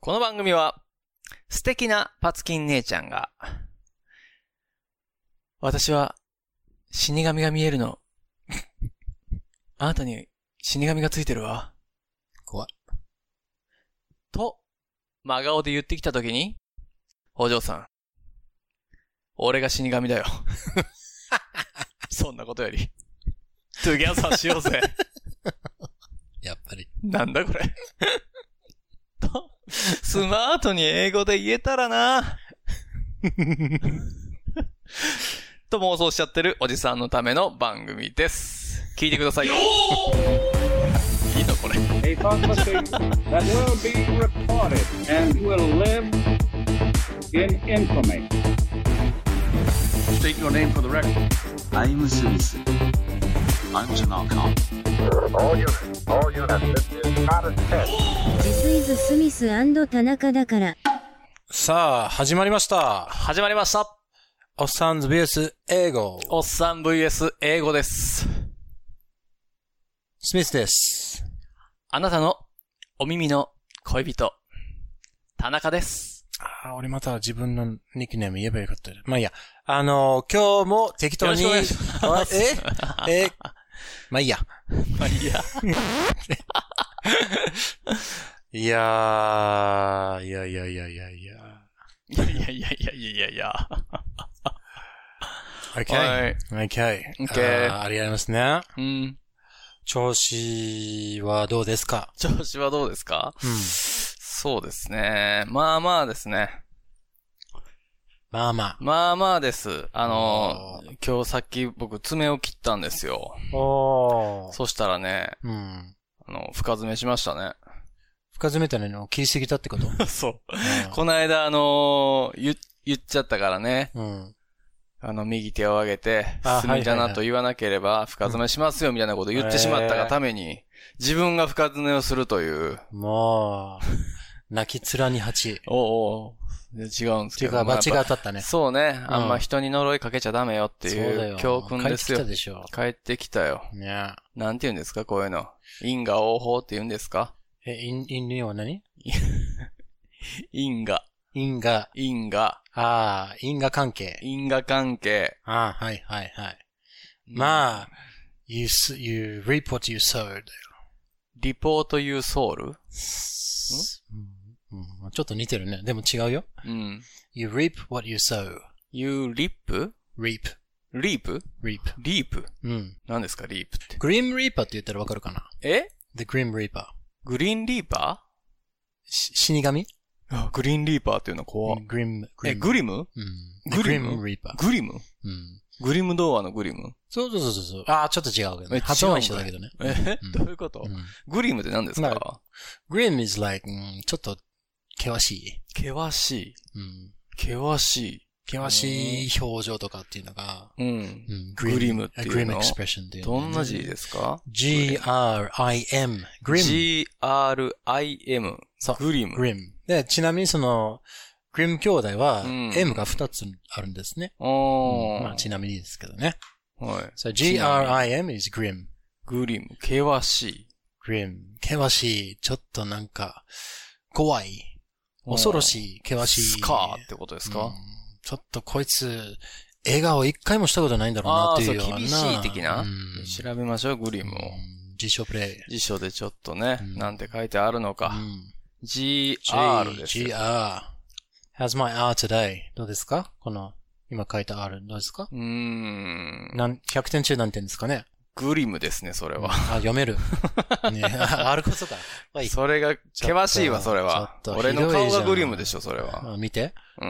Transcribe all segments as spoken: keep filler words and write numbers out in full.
この番組は素敵なパツキン姉ちゃんが私は死神が見えるのあなたに死神がついてるわ怖いと真顔で言ってきたときにお嬢さん俺が死神だよそんなことよりトゥギャザーしようぜやっぱりなんだこれとスマートに英語で言えたらなと妄想しちゃってるおじさんのための番組です。聞いてくださいよいいのこれ A prophecy that will be recorded and will live in infamy. State your name for the record. I'm Smith. I'm Tanaka. All units, all units, this is not a test. This is スミス&田中だから。 さあ、始まりました。 始まりました。 おっさんズ ブイエス 英語。 おっさん ブイエス 英語です。 スミスです。 あなたのお耳の恋人、田中です。 ああ、俺また自分のニックネーム言えばよかった。まあいいや。あのー、今日も適当に。 よろしくお願いします。 ええまあいいや。 まあいいや。 いやー、いやいやいやいやいや。 いやいやいやいやいやいや。 OK。 はい。 OK。 OK。 あ, ありがとうございますね。 うん。 調子はどうですか？ 調子はどうですか？ うん。 そうですね。まあまあですね。 まあまあ。 まあまあです。あの、今日さっき僕爪を切ったんですよ。 おー。 そしたらね、 うん。 あの、深爪しましたね。 深爪っての切りすぎたってことそう。 うん、 この間あのー、言、言っちゃったからね。 うん。 あの、右手を上げて、 あ隅だなと言わなければ深爪しますよみたいなことを言ってしまったがために、自分が深爪をするという。 もう、泣き面に蜂。 おうおう。違うんですけど。 っていうか、罰が当たったね。 そうね。あんま人に呪いかけちゃダメよっていう教訓ですよ。 帰ってきたでしょ。 帰ってきたよ。 ね。 なんて言うんですかこういうの。因果応報って言うんですかえ、因、因には何因果。 因果。 因果。 ああ、因果関係。 因果関係。 ああ、はいはいはい。まあ、you, you reap what you sowed. リポート you soul? うんうん、ちょっと似てるね。でも違うよ。 うん。 You reap what you sow. You reap? reap. reap? reap. reap? うん。 何ですか reap って。 グリームリーパーって言ったらわかるかな？ え ?The Grim Reaper. グリーンリーパー死神あ、グリーンリーパーっていうの怖グリム。 え、グリムうん。 グリム Grim Reaper. グリムうん。 グリム童話のグリムそうそうそうそう。ああ、ちょっと違うけどね。発音は一緒だけどね。 え、 うん、 どういうこと、うん、グリムって何ですか、まあ、 ?Grim is like, うん、ちょっと険しい。 険しい。 うん。 険しい。 険しい表情とかっていうのが、 うん。うん、グリムっていうの。 グリムエクスプレッションっていう、 ね。どんな字ですか ?G R I M。グリム。 G R I M。 そう。 グリム。 グリム。で、ちなみにその、グリム兄弟は、うん、M がふたつあるんですね。 おー。 うん、まあ、ちなみにですけどね。 はい。 So G R I M is grim. グリム。険しい。 grim。険しい。ちょっとなんか、怖い。恐ろしい。険しい。 スカーってことですか、うん、 ちょっとこいつ、笑顔一回もしたことないんだろうなっていうような。 ああ、そう、厳しい的な、うん、調べましょう、グリムを。 辞書プレイ。 辞書でちょっとね、うん、なんて書いてあるのか。うん、G R です。 G R。How's my R today? どうですかこの、今書いた R どうですかうーん。 なん、ひゃくてん中何点ですかねグリムですね、それは。 あ、読める。ね、あることか。 それが、険しいわ、それは。俺の顔がグリムでしょ、それは。 見て。 うん。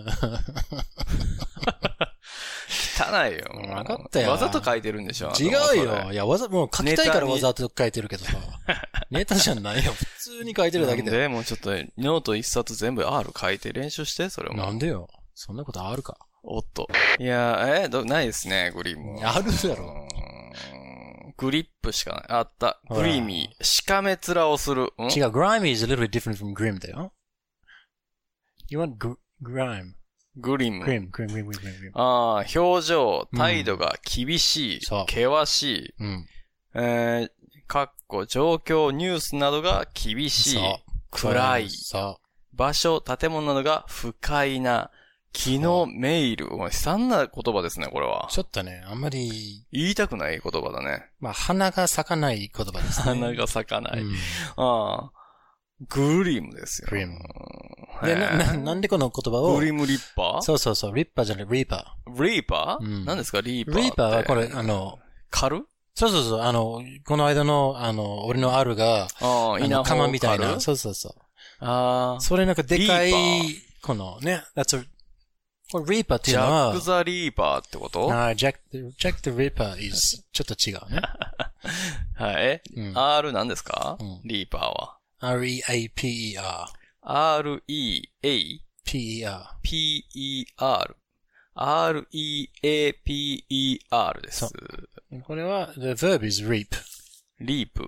汚いよ。 わかったよ。 わざと書いてるんでしょ違うよ。いや、わざ、もう書きたいからわざと書いてるけどさ。ネタじゃないよ。普通に書いてるだけで。 で、もうちょっと、ノート一冊全部 R 書いて練習して、それも。 なんでよ。そんなことあるか。 おっと。いや、え、ど、ないですね、グリム。 あるだろ。 グリップしかない。あった。グリーミー。しかめ面をする。 違う、grimy is a little bit different from grim だよ。You want gr- grime? グリム。 グリム、グリム、グリム、グリム。 ああ、表情、態度が厳しい。うん、険しい。 うん、 えー、かっこ状況、ニュースなどが厳しい。暗い。 そう。 場所、建物などが不快な、気のメイル。悲惨な言葉ですね、これは。 ちょっとね、あんまり。 言いたくない言葉だね。 まあ、花が咲かない言葉ですね。 花が咲かない。 うん、 ああ。グリムですよ。 グリム。で、な、な、なんでこの言葉を。 グリムリッパーそうそうそう、リッパーじゃない、リーパー。リーパー、うん、何ですか、リーパー。 リーパーはこれ、あの、 狩るそうそうそう、あの、この間の、あの、俺のあるが、 ああ、稲穂鎌みたいな。そうそうそう。 ああ。 それなんかでかい、このね、that's a、これリーパーっていうのは、 ジャック・ザ・リーパーってことああ、ジャック、ジャック・ザ・リーパー is ちょっと違うね。 はい。うん、R 何ですか、うん、リーパーは。 アールイーエーピーイーアール。 アールイーエーピーイーアール。 ピーイーアール。アールイーエーピーイーアール です。 これは、the verb is reap. リープ。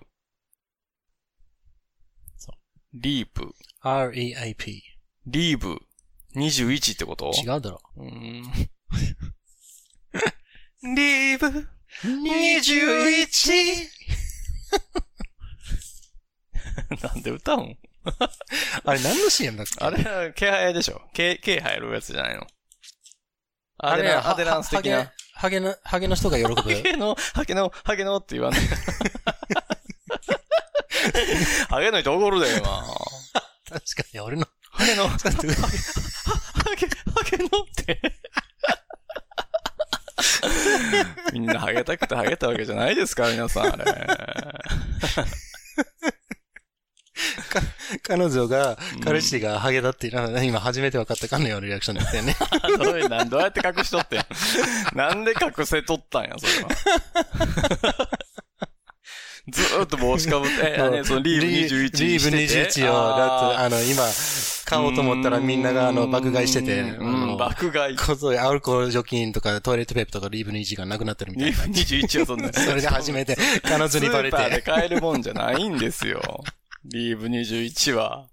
そう。 リープ。 アールイーエーピー。 リーブ。にじゅういちってこと違うだろ。 うーん。リーブ。にじゅういち。なんで歌うんあれ何の シーエム だっけ？ あれ、毛生えでしょ。毛、毛生えるやつじゃないの。あれ、アデランス的な。 ハゲの、ハゲの人が喜ぶ。ハゲの、ハゲの、ハゲのって言わない。ハゲの人怒るで、今。 確かに、俺の。 ハゲの、ハゲ、ハゲのって。みんなハゲたくてハゲたわけじゃないですか、皆さん、あれ。 彼女が、彼氏がハゲだっていうのは、今初めて分かったかのようなリアクションだったよね。 どういう、なん、どうやって隠しとってんなんで隠せとったんや、それは。ずーっと帽子かぶって、え、ね、そのリーブにじゅういちリーブにじゅういちを、だって、あの、今、買おうと思ったらみんなが、あの、爆買いしてて、 うん、爆買い。 こそ、アルコール除菌とか、トイレットペーパーとかリーブにじゅういちがなくなってるみたいな。 リーブにじゅういちはそんな。 それが初めて、彼女にバレて。 スーパーで買えるもんじゃないんですよ。リーブにじゅういちは。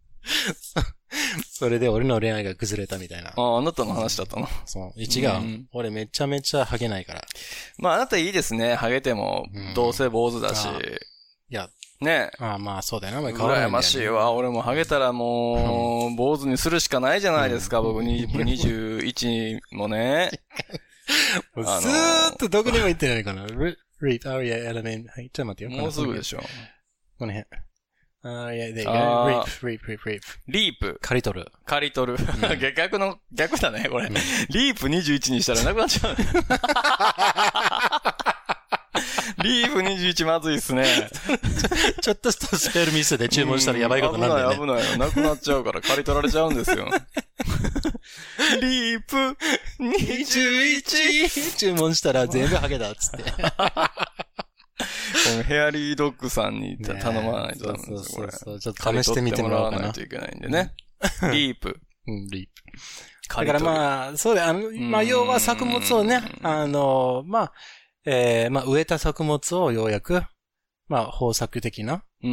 それで俺の恋愛が崩れたみたいな。 ああ、あなたの話だったの。 そう。違う、うん。俺めちゃめちゃハゲないから。 まああなたいいですね。ハゲても、どうせ坊主だし。 いや。 ねえ。 ああまあそうだよな。変わらないんだよね。 羨ましいわ。俺もハゲたらもう、坊主にするしかないじゃないですか。うん、僕にじゅういちもね。 ずーっとどこにも行ってないかな。リープ、あいや、エレメント。はい、ちょっと待ってよ。 もうすぐでしょ。 この辺。ああ、いや、で、リープ、リープ、リープ、リープ。 リープ。 刈り取る。 刈り取る。うん、逆の、逆だね、これ。うん、リープにじゅういちにしたらなくなっちゃう、ね。リープにじゅういちまずいっすね。 ちょ、ちょっとしたスペルミスで注文したらやばいことになるんだよね。 危ない危ない。なくなっちゃうから刈り取られちゃうんですよ。リープにじゅういち注文したら全部ハゲだっつって。 このヘアリードッグさんに頼まないとダメですよ、これ。 そうそうそう。ちょっと試してみてもらおうかな。 刈り取ってもらわないといけないんでね。リープ。 うん、リープ。だからまあ、そうだよ。あの、まあ、要は作物をね、あの、まあ、えー、まあ、植えた作物をようやく、まあ、豊作的な。 うん。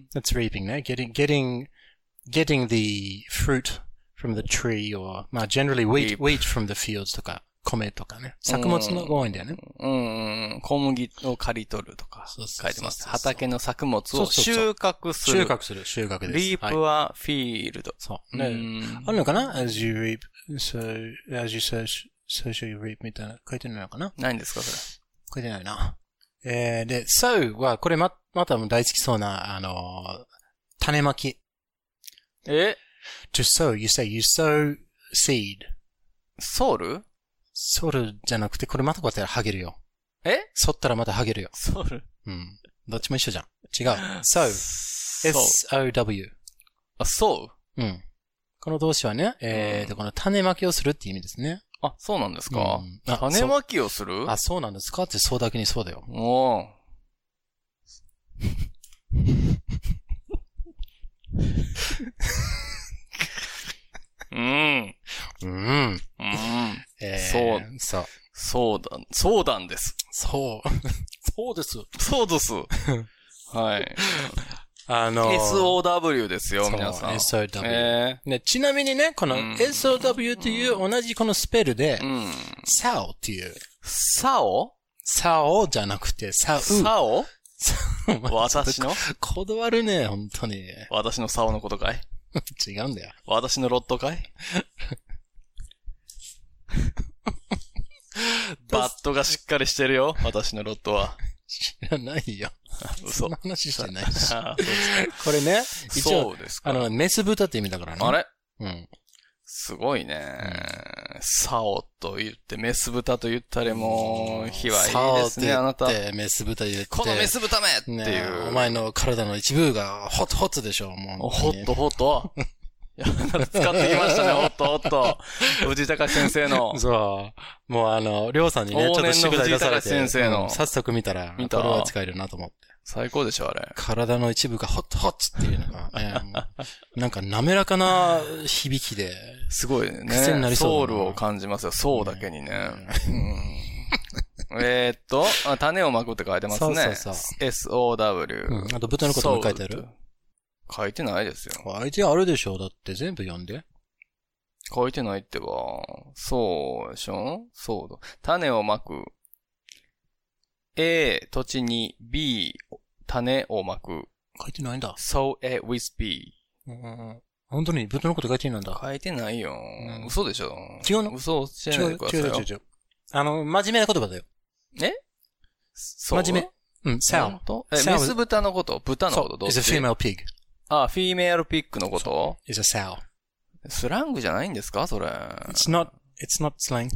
That's reaping ね。getting, getting, getting the fruit from the tree or, まあ、generally wheat, wheat from the fields とか。米とかね。作物のが多いんだよね。 うん。うん。小麦を刈り取るとか書いてます。畑の作物を収穫する。 収穫する。収穫です。 リープはフィールド。 そう。ね。あるのかな ?as you reap, so, as you sow, so shall you reap みたいな書いてないのかなないんですかそれ。 書いてないな。えー、で、sow は、これま、また大好きそうな、あの、種まき。 え ?to sow, you say, you sow seed. ソウルソルじゃなくて、これまたこうやったらハゲるよ。 え剃ったらまたハゲるよ。 ソルうん。どっちも一緒じゃん。違う。sow. S O W. あ、そううん。この動詞はね、えーと、この種まきをするって意味ですね。 あ、そうなんですか、うん、種まきをするあ、そうなんですかってそうだけにそうだよ。 おー。うん。 うん。うん。 えー、そう。 そう。 そうだ、そうだんです。 そう。そうです。 そうです。はい。 あのー、 エスオーダブリュー ですよ、皆さん。 エスオーダブリュー。えー、ね、ちなみにね、この エスオーダブリュー という同じこのスペルで、うん、サオっていう。 サオサオじゃなくて、サウ。 サオ私のこだわるね、本当に。 私のサオのことかい違うんだよ。 私のロットかいバットがしっかりしてるよ。私のロットは。 知らないよ。 嘘。 そんな話してないし。 あそうですこれね、一応そうです、か。 あの、メス豚って意味だからね。 あれうん。 すごいね。サオと言って、メス豚と言ったりも、卑猥いいですね、あなた。 メス豚言って。 このメス豚めっていう、 ね。お前の体の一部がホットホットでしょ、もう。 ホットホットいや、使ってきましたね、ホットホット。藤井隆先生の。 そう。もうあの、りょうさんにね、ちょっと宿題出されて、 先生の、 うん、早速見たら、見たこれは使えるなと思って。 最高でしょ、あれ。 体の一部がホットホットっていうのが、ね、なんか滑らかな響きで。 すごいね。 癖になりそう。 ソウルを感じますよ、そうだけにね。うん、えーっと、種をまくって書いてますね。そうそうそう。エスオーダブリュー。 うん。あと豚のことも書いてある？ 書いてないですよ。 書いてあるでしょ。だって全部読んで。 書いてないってば。そうでしょ？そうだ。種をまく。A、土地に B、種をまく。 書いてないんだ。 sow A with B。 うん。本当に豚のこと書いてないんだ。 書いてないよ。うん、嘘でしょ？ 違うの？ 嘘教えないでくださいよ。違う違う違う。 あの、真面目な言葉だよ。 え？そう真面目。うん、sow。 え、メス豚のこと？豚のことどう？ It's a female pig。 あ、フィメールピッグのこと？ It's a sow。 スラングじゃないんですかそれ。 It's not, it's not slang.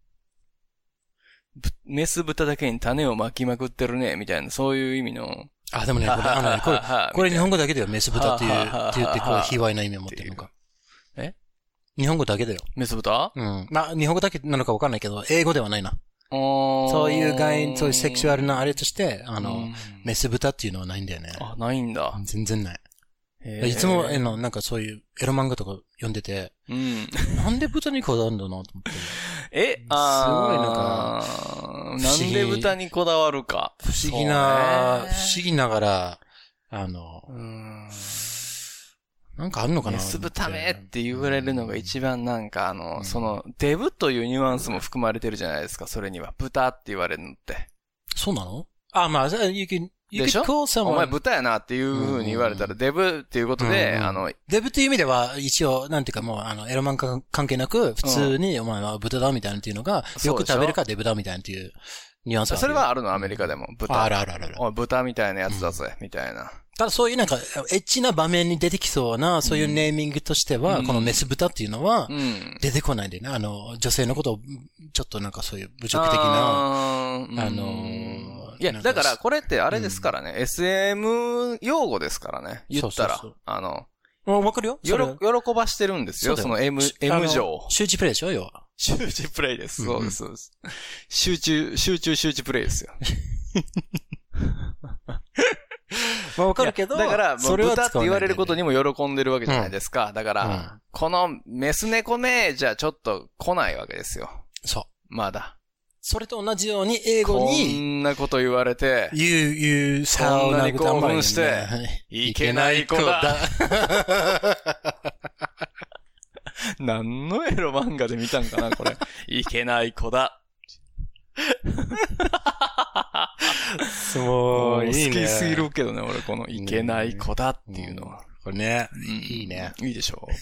メス豚だけに種を巻きまくってるね、みたいな、そういう意味の。 あ、でもね、これ、あのね、これ、これ日本語だけだよ、メス豚っていう、って言って、こう、卑猥な意味を持ってるのか。 え？ 日本語だけだよ。 メス豚？ うん。まあ、日本語だけなのかわかんないけど、英語ではないな。そういう概、そういうセクシュアルなあれとして、あの、メス豚っていうのはないんだよね。 あ、ないんだ。 全然ない。いつも、えの、なんかそういうエロ漫画とか読んでて、うん、なんで豚にこだわるんだなと思って。 え、あすごいなんか、なんで豚にこだわるか。 不思議な、不思議ながら、あの、うーんなんかあるのかなメス豚めって言われるのが一番なんかあの、うん、その、デブというニュアンスも含まれてるじゃないですか、それには。豚って言われるのって。 そうなの？あ、まあ、you can、 でしょ？お前豚やなっていう風に言われたら、デブっていうことで、あの、 デブっていう意味では、一応、なんていうかもう、あの、エロマン関係なく、普通に、お前は豚だみたいなっていうのが、よく食べるかデブだみたいなっていうニュアンスは。 それはあるの、アメリカでも。豚。 あるあるあるある。 おい、豚みたいなやつだぜ、みたいな。 ただそういうなんか、エッチな場面に出てきそうな、そういうネーミングとしては、このメス豚っていうのは、出てこないんでね。あの、女性のことを、ちょっとなんかそういう侮辱的な、あの、 いや、だからこれってあれですからね、エスエム 用語ですからね。言ったら。あの、 わかるよ。 喜ばしてるんですよ、その M、M 乗。 周知プレイでしょ、要は。 周知プレイです。そうです、そうです。集中、集中集中プレイですよ。 まあわかるけど、 だから、それは豚って言われることにも喜んでるわけじゃないですか。うん、だから、うん、このメス猫めじゃちょっと来ないわけですよ。 そう。 まだ。 それと同じように英語に、 こんなこと言われて、 言う、言う、 そんなに興奮して、いけない子だ。何のエロ漫画で見たんかな、これ。いけない子だ。 そう、いいね。 好きすぎるけどね、俺、このいけない子だっていうのは。うん、 これね、うん、いいね。 いいでしょう。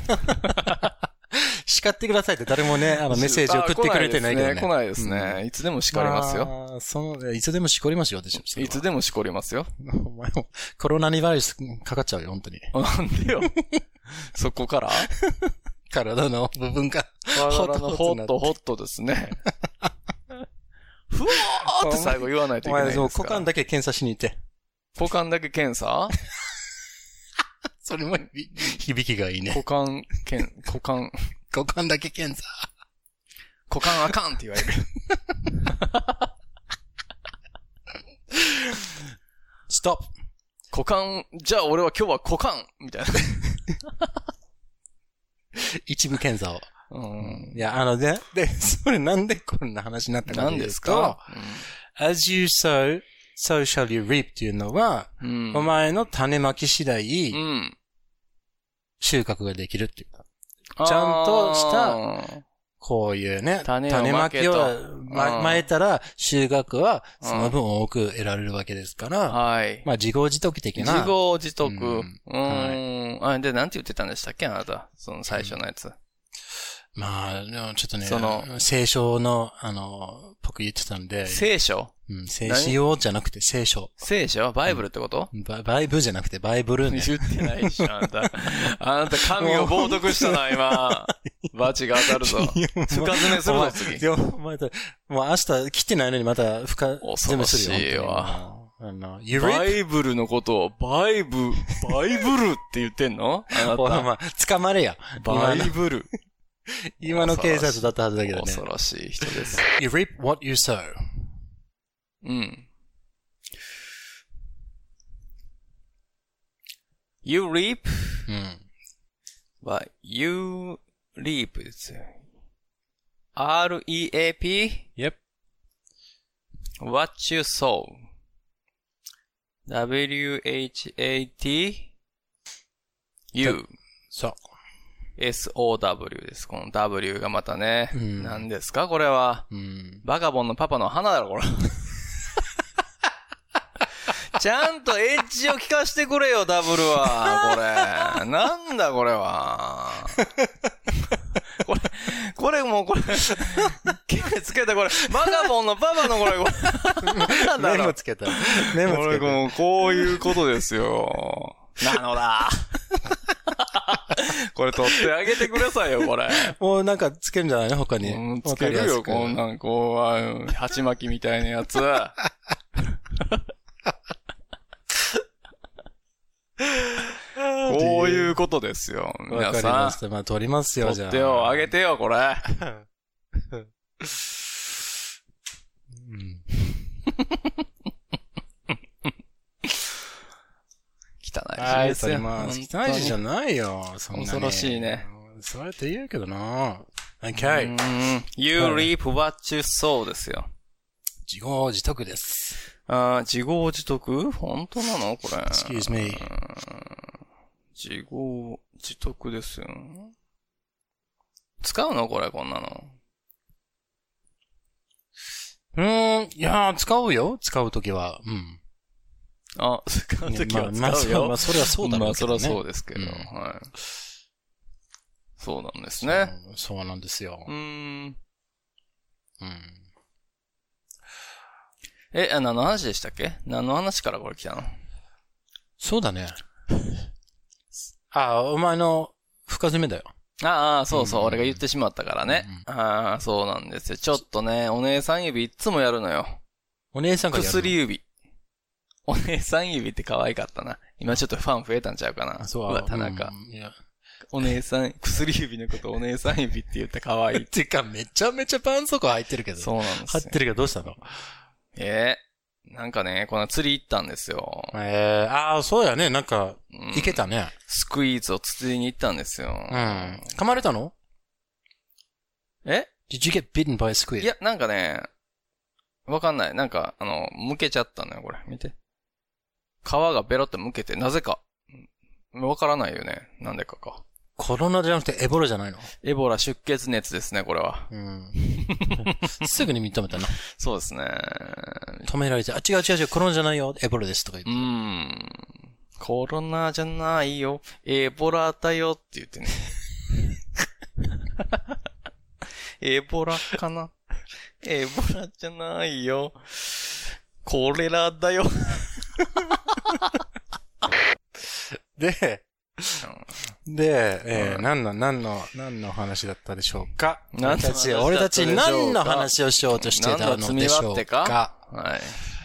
叱ってくださいって誰もね、あのメッセージ送ってくれてないけどね。 来ないですね。来ないですね。いつでも叱りますよ。 ああ、その、いつでも叱りますよ、私。 いつでも叱りますよ。 お前も、コロナにウイルスかかっちゃうよ、本当に。 なんでよ。そこから体の部分が。 体のホットホットですね。ふわーって最後言わないといけないですから。お前、 股間だけ検査しに行って。 股間だけ検査それも響きがいいね。 股間、検、股間。 股間だけ検査。 股間あかんって言われる。 ストップ。 股間、じゃあ俺は今日は股間みたいな。 一部検査を。 うん、 いや、あのね、で、それなんでこんな話になったかというと、何ですか、うん、as you sow, so shall you reap っていうのは、うん、お前の種まき次第、うん、収穫ができるっていうか、ちゃんとしたこういうね、 種を種まきを、ま、 うんまえたら収穫はその分多く得られるわけですから、 はい。 まあ自業自得的な。 自業自得。ううんーん。あ、で、なんて言ってたんでしたっけあなた。その最初のやつ。 まあ、でもちょっとね、 その聖書の、あの、僕言ってたんで。 聖書うん、聖書じゃなくて聖書。 聖書バイブルってこと、 うん、バ, バイブルじゃなくてバイブルね。 言ってないし、あなた。あなた神を冒涜したな、今。バチが当たるぞ。深爪するぞ、次。 でも、また、もう明日来てないのにまた深爪するよ。 恐ろしいわ。 あの、 バイブルのことを、バイブ、バイブルって言ってんのあなた。 ほら、まあ、捕まれや。 バイブル。 今の警察だったはずだけどね。 恐ろしい人です。 You reap what you sow. うん。You reap? うん。 は、you reap ですよ。アールイーエーピー? Yep. What you sow. ダブリューエイチエーティー? You. そう。 エスオーダブリュー です。この W がまたね。 うん、 何ですかこれは。 うん、 バカボンのパパの花だろ、これ。ちゃんとエッジを聞かしてくれよ、ダブルは。これ。なんだ、これは。これ、これもうこれ、毛つけたこれ、バカボンのパパのこれ、これ。なんだろう。 メモつけた。メモつけた。 これもうこういうことですよ。なのだ。これ取ってあげてくださいよ、これ。 もうなんかつけるんじゃないの他に。 うん、つけるよ、こんなん、こう、鉢巻きみたいなやつ。こういうことですよ。皆さん。わかりました。まあ、取りますよ、じゃあ。 取ってよ、あげてよ、これ。うん、汚い字ですよ。 はい、汚い字じゃないよ。そんな恐ろしいね。 そうやって言うけどな。Okay. You reap what you sow ですよ。 自業自得です。 あ自業自得本当なのこれ。 Excuse me. 自業自得ですよ。使うのこれ、こんなの。 うーん、いやー、使うよ。使うときは。うん。 あ、使うときは使うよ。 まあ、まあ、まあ、それはそうだろうけどね。 まあ、それはそうですけど。うん、はい。そうなんですね。 そう、そうなんですよ。 うーん。うん。 え、 何の話でしたっけ？何の話からこれ来たの？ そうだね。あ、お前の深爪だよ。 ああ、そうそう、うん、俺が言ってしまったからね。うん、ああ、そうなんですよ。ちょっとね、お姉さん指いつもやるのよ。 お姉さんがやるの？ 薬指。お姉さん指って可愛かったな。今ちょっとファン増えたんちゃうかな。 そう。 うわ、田中。 うん、いやお姉さん、薬指のことお姉さん指って言って可愛い。 てか、めちゃめちゃ絆創膏入ってるけど。 そうなんですよ。 入ってるけどどうしたの？ ええー、なんかね、この釣り行ったんですよ。 ええー、ああ、そうやね。なんか、行けたね、うん。 スクイーズを釣りに行ったんですよ。 うん。噛まれたの？ え Did you get bitten by a squid? いや、なんかね、わかんない。なんか、あの、剥けちゃったのよ、これ。見て。皮がベロって剥けて、なぜか。わからないよね。なんでかか。 コロナじゃなくてエボラじゃないの？ エボラ出血熱ですね、これは。 うん。すぐに認めたな。 そうですね。 止められて、あ、違う違う違う、コロナじゃないよ、エボラですとか言って。 うーん。コロナじゃないよ、エボラだよって言ってね。エボラかな？エボラじゃないよ。コレラだよ。 で、で、えー、何の、何の、何の話だったでしょうか？俺たち、俺たち何の話をしようとしてたのでしょうか？ はい。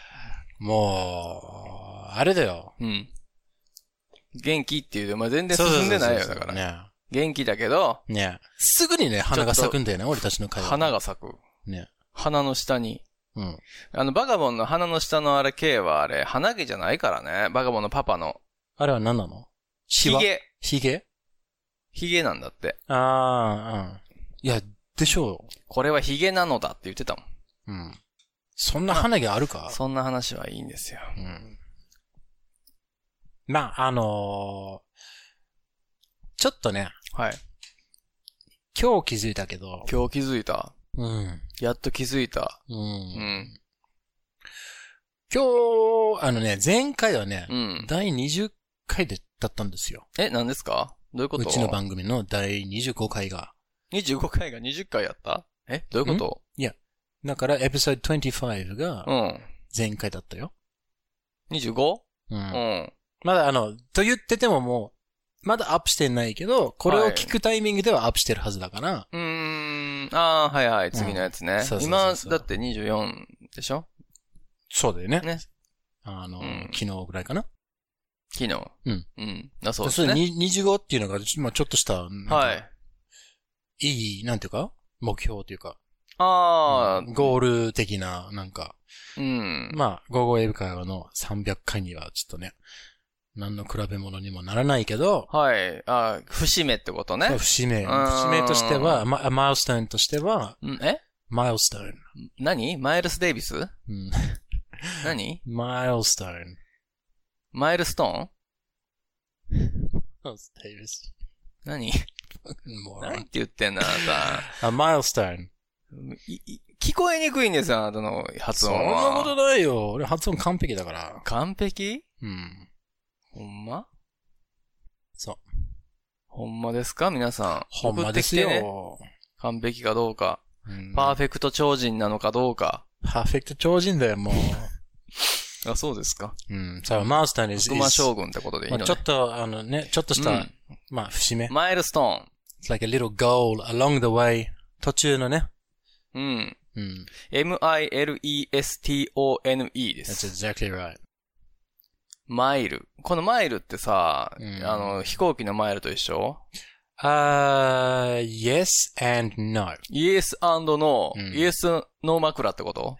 もう、あれだよ。 うん。元気っていうで、まあ、全然進んでないよ、だから。ね、元気だけど、 ね。すぐにね、花が咲くんだよね、俺たちの会話。 花が咲く。 ね。 花の下に。 うん。 あの、バカボンの花の下のあれ、K はあれ、花毛じゃないからね。バカボンのパパの。 あれは何なの？ ヒゲ。 ヒゲ？ ヒゲなんだって。 ああ、うん。いや、でしょう。 これはヒゲなのだって言ってたもん。うん。そんな花毛あるか？ そんな話はいいんですよ。 うん。まあ、あのー、ちょっとね。 はい。 今日気づいたけど。 今日気づいた。 うん。 やっと気づいた。 うん。うん、今日、あのね、前回はね、うん、だいにじゅっかいで、だったんですよ。 え、何ですか？どういうこと？ うちの番組のだいにじゅうごかいが。 にじゅうごかいがにじゅっかいやった？え、どういうこと？ いや、だからエピソードにじゅうごが、前回だったよ。 にじゅうご？ うん。うん。まだあの、と言っててももう、まだアップしてないけど、これを聞くタイミングではアップしてるはずだから。はい、 うーん。ああ、はいはい、次のやつね。うん、そうそうそうそう。今、だってにじゅうよんでしょ？そうだよね。ね。あの、うん、昨日ぐらいかな。 昨日。 うん。 うん。あ、そうですね。 にじゅうごっていうのが、まあちょっとした、 はい。 いい、なんていうか目標というか。 ああ、 うん、ゴール的な、なんか。 うん。 まあ、ゴーゴーエブ会話のさんびゃっかいにはちょっとね、何の比べ物にもならないけど。 はい。あ節目ってことね。 そう、節目。節目としては、ま、マイルストーンとしては。 んえマイルストーン。 何マイルス・デイビス？うん。何マイルストーン。 マイルストーン？ マイルス・デイビス。 何何って言ってんだ、あなた。あ、マイルストーン。 聞こえにくいんですよ、あなたの発音は。 そんなことないよ。俺発音完璧だから。 完璧？ うん。 ほんま？ そう。 ほんまですか皆さん。 ほんまですよ。ね、 完璧かどうか、うん。パーフェクト超人なのかどうか。 パーフェクト超人だよ、もう。 あ、そうですか。 うん。さあ、マウスターに、 悪魔将軍ってことでいいのね。 まあ、ちょっと、あのね、ちょっとした、うん、まあ、節目。 マイルストーン。 It's like a little goal along the way. 途中のね。 うん。 うん。 エムアイエルイーエスティーオーエヌイー です。 That's exactly right. マイル。このマイルってさ、うん、あの、飛行機のマイルと一緒？ あー、uh, yes and no. Yes and no. うん、Yes no 枕ってこと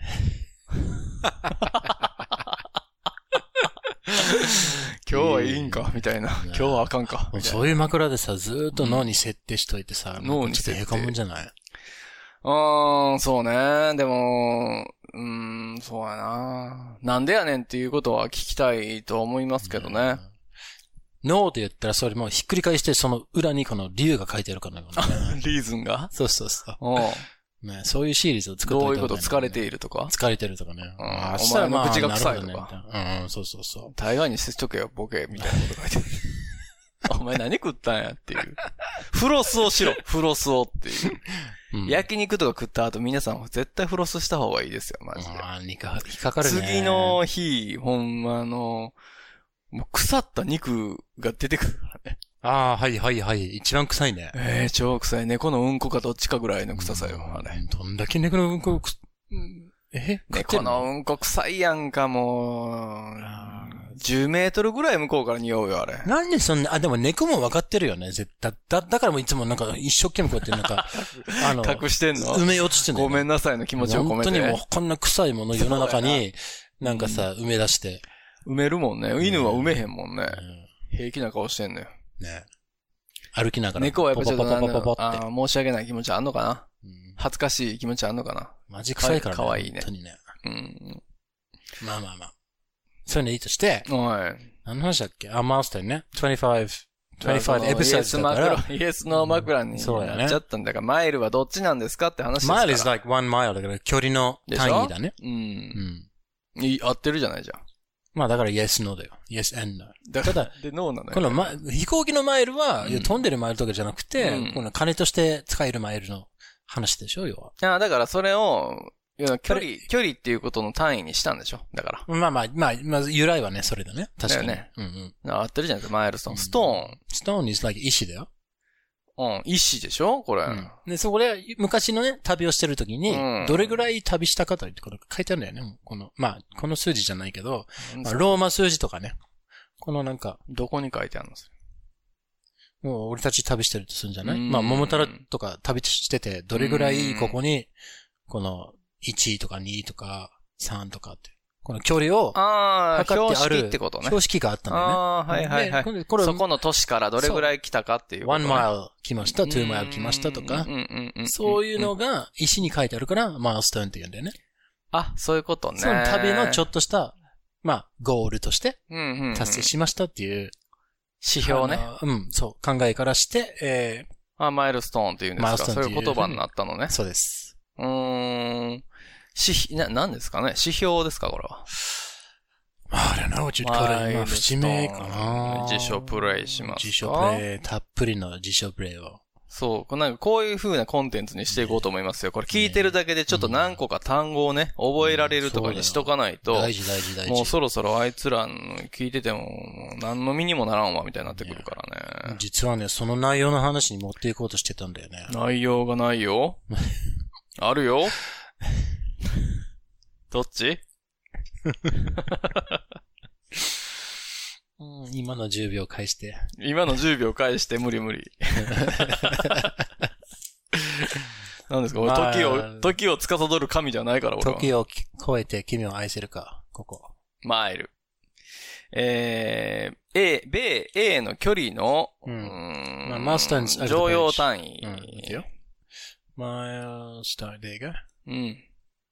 今日はいいんかみたいな。今日はあかんか。 そういう枕でさ、ずーっと脳に設定しといてさ、脳に設定。へこむんじゃない？ うーん、そうね。でも、うーん、そうやな。なんでやねんっていうことは聞きたいと思いますけどね。 脳って言ったらそれもひっくり返してその裏にこの理由が書いてあるからね。 リーズンが？ そうそうそう。ね、そういうシリーズを作っておいた、ね、 どういうこと疲れているとか疲れてるとかね。 うん。あお前の口が臭いとか。 ね、うん、そうそうそう。 大概にしとけよ、ボケ、みたいなこと書いてる。お前何食ったんやっていう。フロスをしろ、フロスをっていう。うん、焼肉とか食った後皆さん絶対フロスした方がいいですよ、マジで。 ああ、引っかかるね。 次の日、ほんまの、もう腐った肉が出てくるからね。 ああ、はいはいはい。一番臭いね。 ええー、超臭い。猫のうんこかどっちかぐらいの臭さよ、あれ。 どんだけ猫のうんこく、え猫のうんこ臭いやんか、もう。じゅうメートルぐらい向こうから匂うよ、あれ。 なんでそんな、あ、でも猫も分かってるよね、絶対。だ、だからもいつもなんか一生懸命こうやってなんか、 あの、隠してんの？ 埋めようとしてんの、 ね。ごめんなさいの気持ちを込めて。 本当にもうこんな臭いもの世の中に、なんかさ、埋め出して。 埋めるもんね。犬は埋めへんもんね。うん、平気な顔してんのよ。 ね。歩きながら。 猫はやっぱちょっとなんだろう、あ申し訳ない気持ちあんのかな、うん、恥ずかしい気持ちあんのかなマジ臭いからね。 かわいいね。 本当にね。 うん。 まあまあまあ。そういうのいいとして。 はい。 何の話だっけあ、マウスターね。にじゅうご、にじゅうごエピソードだから。 イエスの枕になっちゃったんだから、マイルはどっちなんですかって話ですから。 マイル is like one mile だから距離の単位だね。 うん。うん。い合ってるじゃないじゃん。 まあだから yes, no だよ。yes and no. だから、で、no なのよ。 この、ま、飛行機のマイルは、うん、飛んでるマイルとかじゃなくて、うん、この金として使えるマイルの話でしょ、要は。 ああ、だからそれを、距離、距離っていうことの単位にしたんでしょだから。 まあまあ、まあ、まず由来はね、それだね。確かに。 だよね。 うんうん。合ってるじゃないですか、マイルストーン。ストーン。 ストーン is like 石だよ。 うん、石でしょこれ、うん。 で、そこで、昔のね、旅をしてるときに、うん、どれぐらい旅したかということが書いてあるんだよね。この、まあ、この数字じゃないけど、まあ、ローマ数字とかね。このなんか。 どこに書いてあるのそれもう、俺たち旅してるとするんじゃないまあ、桃太郎とか旅してて、どれぐらいここに、この、いちとかにとかさんとかって。この距離を測ってある。標識ってことね。標識があったんだよね。 ああ、はいはいはい。これそこの都市からどれぐらい来たかっていうこと、ね。 one mile 来ました、two mile 来ましたとか。そういうのが石に書いてあるから、マイルストーンって言うんだよね。 あ、そういうことね。 その旅のちょっとした、まあ、ゴールとして、達成しましたっていう。 指標ね。 うん、そう、考えからして、えー、 あ、マイルストーンっていうんですか。そういう言葉になったのね。 そうです。 うーん。し、な、何ですかね指標ですかこれは。 I don't know what you'd call it. 今、節目かな。 辞書プレイしますか。 辞書プレイ、たっぷりの辞書プレイを。 そう。なんかこういう風なコンテンツにしていこうと思いますよ。これ聞いてるだけでちょっと何個か単語をね、覚えられるとかにしとかないと。 大事大事大事。 もうそろそろあいつら聞いてても、何の身にもならんわみたいになってくるからね。 実はね、その内容の話に持っていこうとしてたんだよね。 内容がないよ。あるよ。どっちうん、今のじゅうびょう返して。 今のじゅうびょう返して無理無理。何ですか、まあ、時を、時を司る神じゃないから俺は。 時を超えて君を愛せるか、ここ。 マイル。えー、A、米 A の距離の、 うん。 うーんまあ、マスター常用単位。 うん、いいよ。マイルストーン、there you go。 うん。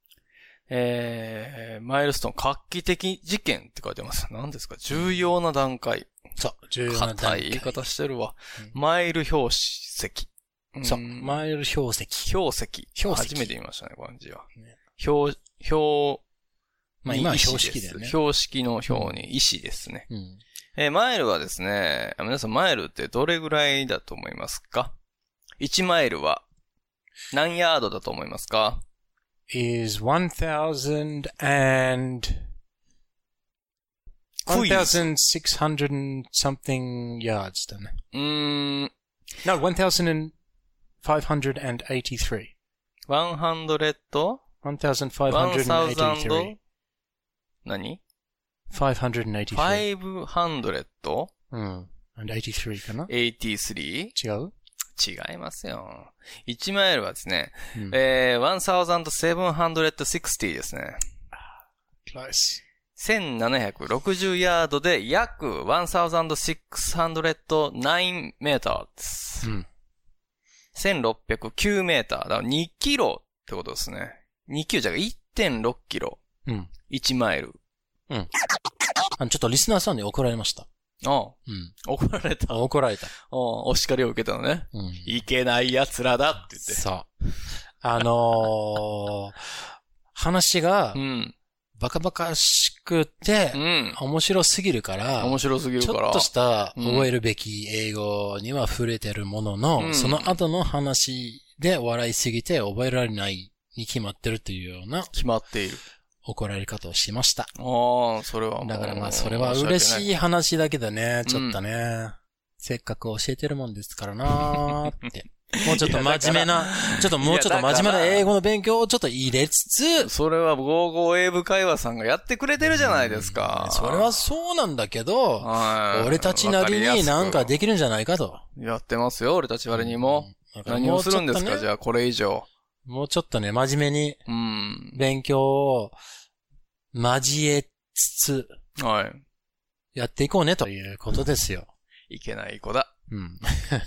えー、マイルストーン、画期的事件って書いてます。何ですか重要な段階。 そう、重要な段階。 硬い言い方してるわ。うん、マイル標識。 そう、マイル標識。 標識。 標識。 初めて言いましたね、この字は。 ね、 標、標、 まあ今は標識だよね。 標識の標に石ですね。 うん、 えー、マイルはですね、皆さんマイルってどれぐらいだと思いますか ?いち マイルは何ヤードだと思いますか is one thousand and one thousand six hundred and something yards だね。 うーん。 No, one thousand five hundred eighty-three. one hundred? one thousand five hundred eighty-three. 何 five hundred eighty-three. five hundred? うん。and eighty-three かな ?eighty-three? 違う違いますよ。いちマイルはですね、 うん、 えー、one thousand seven hundred sixty ですね。 Close. せんななひゃくろくじゅうヤードで約 one thousand six hundred nine メーターです。うん、せんろっぴゃくきゅうメーター。だからにキロってことですね。にキロじゃ いってんろくキロ。うん。いちマイル。 うん。あの、ちょっとリスナーさんに怒られました。 ああ。うん。怒られた。 怒られた。 ああ、お叱りを受けたのね。うん。いけない奴らだって言って。 そう。あのー、話が、うん。バカバカしくて、うん。面白すぎるから、 面白すぎるから。 ちょっとした覚えるべき英語には触れてるものの、うん、その後の話で笑いすぎて覚えられないに決まってるというような。 決まっている。 怒られ方をしました。 ああ、それはもう。 だからまあ、それは嬉しい話だけどね、ちょっとね、うん、せっかく教えてるもんですからなーって。もうちょっと真面目な、ちょっともうちょっと真面目な英語の勉強をちょっと入れつつ。 それはゴーゴー英語会話さんがやってくれてるじゃないですか。 それはそうなんだけど、俺たちなりになんかできるんじゃないかと。 やってますよ、俺たちなりにも。うん、何をするんですか、ね、じゃあこれ以上。 もうちょっとね、真面目に、勉強を交えつつ、はい。やっていこうね、ということですよ。 いけない子だ。うん。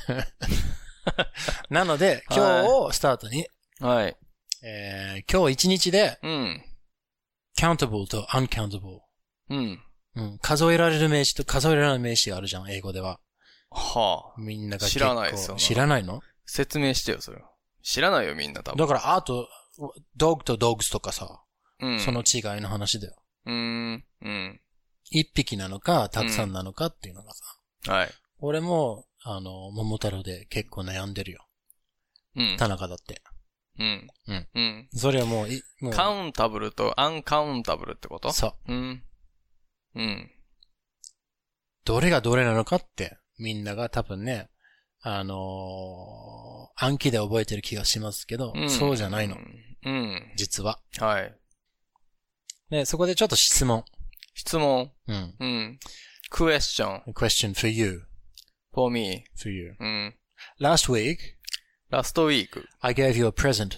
なので、今日をスタートに、 はい。 えー、今日一日で、うん。countable と uncountable。うん。うん。数えられる名詞と数えられない名詞があるじゃん、英語では。 はあ。みんなが知らないですよ。 知らないの？ 説明してよ、それは。知らないよ、みんな多分。 だから、あと、dog と dogs とかさ、うん。その違いの話だよ。 うーん。うん。 一匹なのか、たくさんなのかっていうのがさ。 うん、はい。 俺も、あの、桃太郎で結構悩んでるよ。うん。田中だって。うん。うん。うん。それはもう、い、もう。 カウンタブルとアンカウンタブルってこと？ そう。 うん。うん。 どれがどれなのかって、みんなが多分ね、あのー、暗記で覚えてる気がしますけど、うん、そうじゃないの。うん。実は。 はい。 で、そこでちょっと質問。 質問。うん。うん。question. question for you.For me. For you. うん。Last week. Last week. I gave you a present.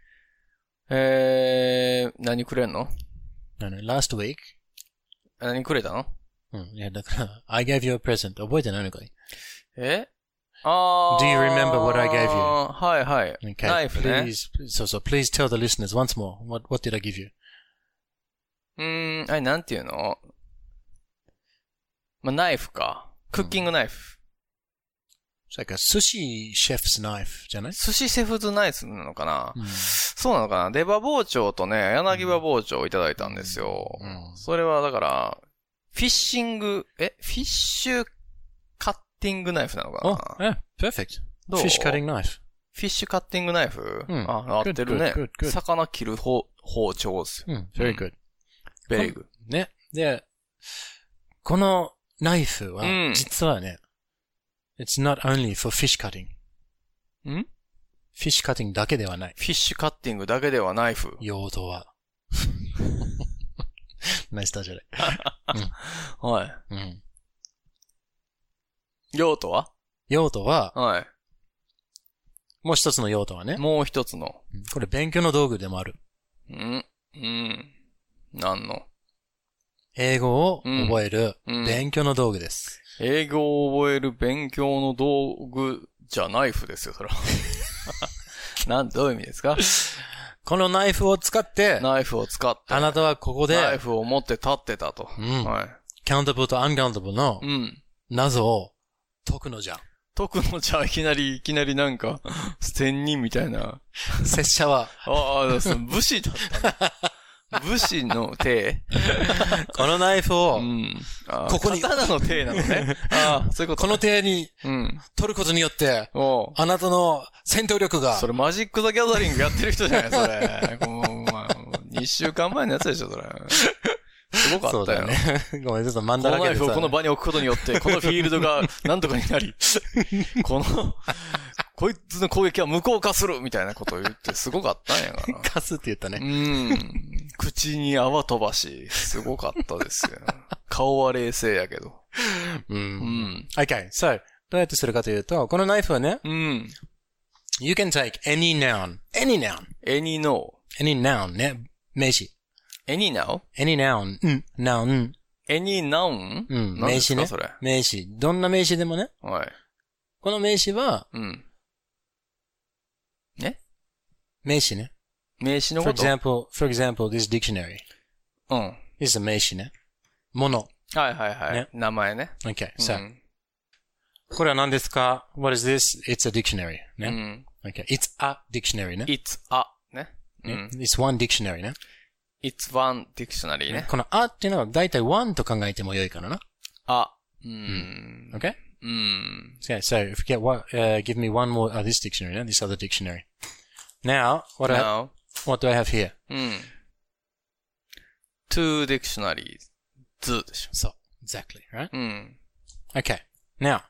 えー、何くれんの？ 何 ?Last week. 何くれたの？ うん。いや、だから、I gave you a present. 覚えてないのかい？ え？あー。 Do you remember what I gave you? はいはい。 Okay. ナイフね。 Please, so, so, please tell the listeners once more. What, what did I give you? うーん、あれ、なんていうの？まあ、ナイフか。クッキングナイフ。 It's like a sushi chef's knife じゃない？ 寿司シェフズナイフなのかな、 うん、 そうなのかな出刃包丁とね、柳刃包丁をいただいたんですよ。うん、それはだから、フィッシング、えフィッシュカッティングナイフなのかな？ Oh, yeah, perfect. どう？ Fish cutting knife. フィッシュカッティングナイフ、 うん、 あ、合ってるね。 good, good, good. 魚切る包包丁ですよ。 うん、very good. very good. ね。で、このナイフは、実はね、うん、it's not only for fish cutting. ん？ fish cutting だけではない。 フィッシュカッティングだけではナイフ。 用途は。ナイスターじゃない。 うん、はい。 うん。 用途は？ 用途は、 はい。 もう一つの用途はね。 もう一つの。 これ勉強の道具でもある。 うん。うん。何の？ 英語を覚える勉強の道具です。 うんうん、英語を覚える勉強の道具じゃナイフですよ、それは。なん、どういう意味ですか？ このナイフを使って、 ナイフを使って、 あなたはここで、 ナイフを持って立ってたと。 うん。 はい。 カウンタブルとアンカウンタブルの謎を解くのじゃん。 解くのじゃいきなり、いきなりなんか、仙人みたいな。 拙者は。 ああ、武士だったね。武士の手このナイフを、うん、 ここに。刀の手なのね。ああ、そういうこと、ね。 この手に、うん、取ることによって、あなたの戦闘力が。 それマジック・ザ・ギャザリングやってる人じゃないそれ。もうまあ、にしゅうかんまえのやつでしょ、それ。すごかったよ。 そうだね。ごめん、ちょっと真ん中で。 このナイフをこの場に置くことによって、このフィールドがなんとかになり、この、こいつの攻撃は無効化するみたいなことを言って、すごかったんやから。 化すって言ったね。 うん。口に泡飛ばし、すごかったですよ。顔は冷静やけど。 うん。うん。Okay, so, どうやってするかというと、このナイフはね、 うん。 You can take any noun, any noun. Any no. Any noun ね、名詞。 Any now? Any noun, うん、noun. Any noun? うん、名詞ね。 それ。 名詞。どんな名詞でもね。 はい。 この名詞は、 うん。ね？ 名詞ね。 名詞のこと ?For example, for example, this dictionary. うん。 This is a 名詞ね。もの。 はいはいはい。ね、名前ね。 Okay, so、うん。これは何ですか ?What is this? It's a dictionary. ね。うん。Okay, it's a dictionary ね。 It's a ね。 うん。It's one dictionary ね。 It's one dictionary ね。 このあっていうのはだいたい one と考えても良いからな。 あ。うん。 Okay? うん。 Okay, so if you get what, uh, give me one more, uh, this dictionary, no? This other dictionary. Now, what, Now, I, what do I have here? うん。two dictionaries. 図でしょ。 そう。Exactly, right? うん。 Okay. Now,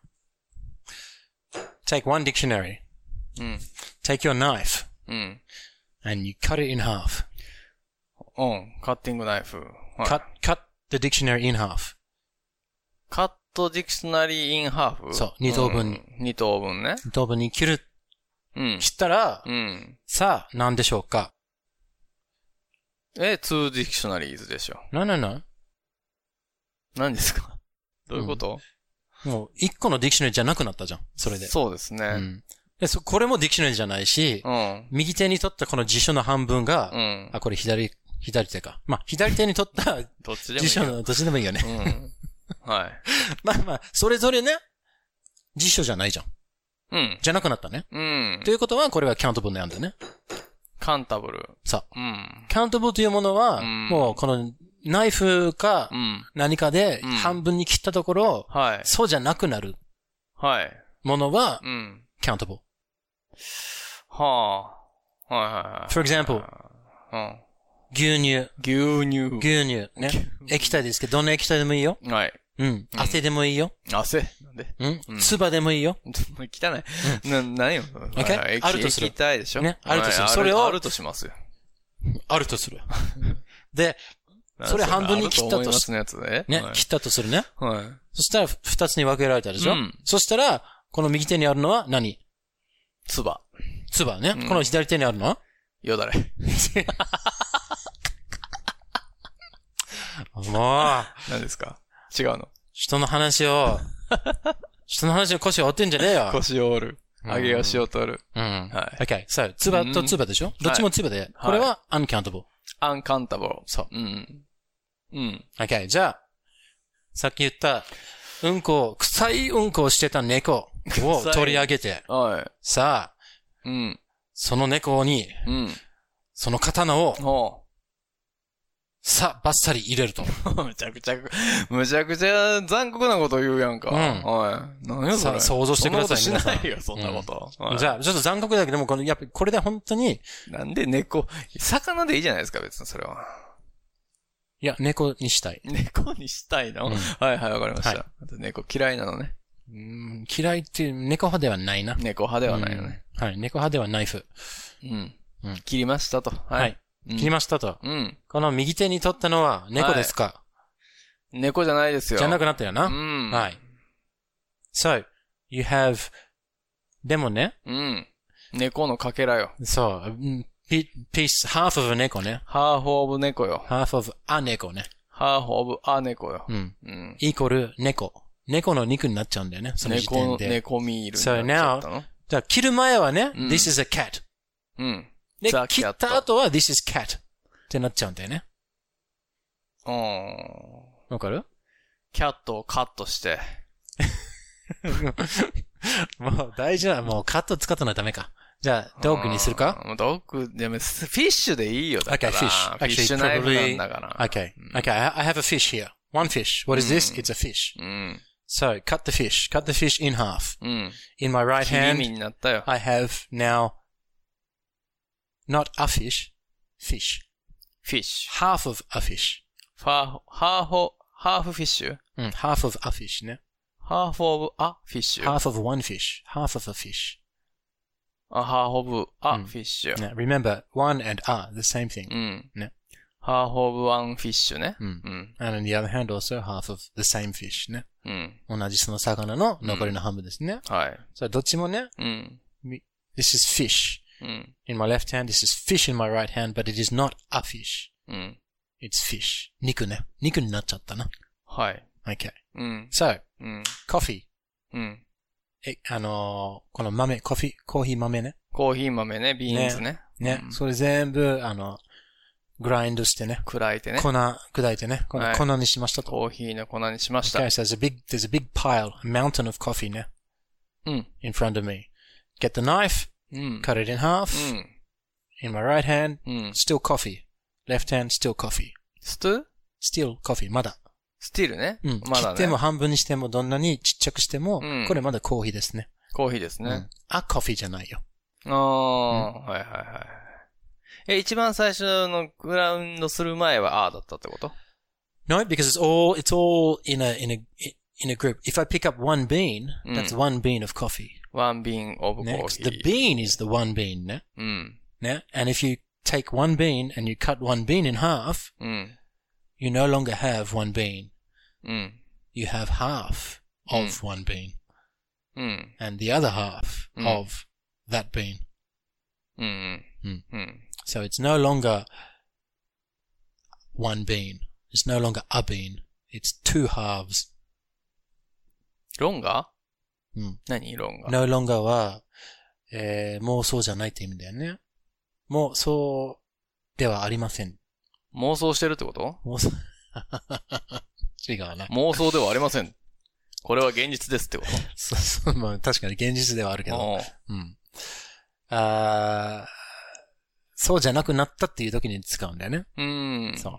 take one dictionary. うん。 Take your knife. うん。 And you cut it in half. うん。カッティングナイフ。はい、 cut, cut the dictionary in half. カットディクショナリーインハーフそう。二等分に。 うん、二等分ね。 二等分に切る。 うん。 切ったら、 うん。 さあ、何でしょうか？ え、two dictionaries でしょ。 No, no, no. 何ですか？どういうこと？ うん、もう、一個のディクショナリーじゃなくなったじゃん。それで。 そうですね。 うん。で、そ、これもディクショナリーじゃないし、 うん。 右手に取ったこの辞書の半分が、 うん。 あ、これ左、左手か。まあ、左手に取ったどっちでもいい。 辞書の、どっちでもいいよね。 うん。はい。 まあまあ、それぞれね、辞書じゃないじゃん。 うん。 じゃなくなったね。 うん。 ということは、これはカウンタブルなんだね。 カウンタブル。 そう。 うん。 カウンタブルというものは、うん、もうこのナイフか何かで半分に切ったところ、 うん、はい。 そうじゃなくなる。 はい。 ものは、 うん。 カウンタブル。 はあ。はいはいはい。 For example、 うん。 牛乳。 牛乳。 牛乳。ね。液体ですけど、どんな液体でもいいよ。 はい。 うん。汗でもいいよ。 汗なんでうん。唾でもいいよ。 汚い。な、なんよ。 OK? あるとする。 液体でしょね。あるとする。それを。 あるとしますよ。 あるとする。で、それ半分に切ったとする。ね。切ったとするね。 はい。 そしたら二つに分けられたでしょ。うん。そしたら、この右手にあるのは何？ 唾。 唾ね。この左手にあるのはよだれ。 もう。 何ですか？違うの？ 人の話を、人の話を腰を折ってんじゃねえよ。 腰を折る。上げ足を取る。 うん。はい。OK。そう。唾と唾でしょ？どっちも唾で。これは uncountable。 uncountable。 そう。 うん。うん。 OK。じゃあ、さっき言った、うんこ、臭いうんこをしてた猫。 を取り上げて、 はい。 さあ、 うん。 その猫に、 うん。 その刀を、 ほさあ、バッサリ入れると。 う。むちゃくちゃ、むちゃくちゃ残酷なこと言うやんか。 うんはい。何やそれ。 さあ、想像してください。 そんなことしないよ、そんなこと。 うんはい、じゃあ、ちょっと残酷だけども、この、やっぱりこれで本当に。 なんで猫、魚でいいじゃないですか、別にそれは。 いや、猫にしたい。 猫にしたいの、うん、はいはい、わかりました。はい、猫嫌いなのね。 うん、嫌いっていう、猫派ではないな。 猫派ではないのね。 うん、はい、猫派ではナイフ。 うん。うん、切りましたと。はい。 はいうん、切りましたと。 うん。 この右手に取ったのは猫ですか、はい、 猫じゃないですよ。 じゃなくなったよな。 うん。 はい。So, you have, でもね。 うん。猫のかけらよ。 そう。piece, half of a 猫ね。 half of 猫よ。 half of a 猫ね。 half of a 猫よ。 うん。うん。イコール猫。猫の肉になっちゃうんだよね。その時点で。 猫、猫ミールになっちゃったの。 So now, じゃあ切る前はね、うん、this is a cat. うん。 で、切った後は this is cat. ってなっちゃうんだよね。 うん。 わかる？ キャットをカットして。 もう大事な、もうカット使ったのはダメか。じゃあ、ドッグにするか？ ドッグ、でも、フィッシュでいいよ、だから。 Okay, fish. フィッシュナイフなんだから。 Okay. Okay, I have a fish here. One fish. What is this? It's a fish. So, cut the fish. Cut the fish in half. In my right hand, I have now not a fish, fish. Fish. Half of a fish. Half, half, half fish? うん、half of a fish ね。 half of a fish? Half of one fish. Half of a fish. A half of a fish. ね、remember, one and a, the same thing. うん。 ね。 half of one fish ね。 うん。うん。And on the other hand also half of the same fish ね。 うん。 同じその魚の残りの半分ですね。 はい。 それどっちもね。 うん。 This is fish. うん。 In my left hand, this is fish in my right hand, but it is not a fish. うん。 It's fish. 肉ね。肉になっちゃったな。 はい。 Okay. うん。 So, うん。 coffee. うん。 え、あのー、この豆、コーヒー、コーヒー豆ね。 コーヒー豆ね、ビーンズね。 ね。ね、うん。それ全部、あの、グラインドしてね。 砕いてね。 粉、砕いてね。この粉にしましたと。 コーヒーの粉にしました。 Okay, so there's a big, there's a big pile, a mountain of coffee ね。 うん。 in front of me. Get the knife, うん。 cut it in half. うん。 In my right hand, うん。 still coffee. Left hand, still coffee. ストゥ still coffee, まだ。 スティルね。 うん。 まだね。 切っても半分にしてもどんなにちっちゃくしても、 うん、 これまだコーヒーですね。 コーヒーですね。うん、 あ、コーヒーじゃないよ。 ああ、うん、はいはいはい。え、一番最初のグラウンドする前はあーだったってこと？ No, because it's all, it's all in a, in a, in a group. If I pick up one bean, that's one bean of coffee. One bean of coffee. The bean is the one bean, ね。 うん。 ね。And if you take one bean and you cut one bean in half, うん。 you no longer have one bean. うん。 You have half of one bean. うん。 And the other half of that bean. うん。 うん。 うん。 So it's no longer one bean. It's no longer a bean. It's two halves. ロンガーうん。 何ロンガ ?no longer は、えー、もうそうじゃないって意味だよね。もうそうではありません。 妄想してるってこと？ 妄想違うな。 妄想ではありません。これは現実ですってこと？ そうそう、まあ確かに現実ではあるけど。うん。あそうじゃなくなったっていう時に使うんだよね。 うん。 そう。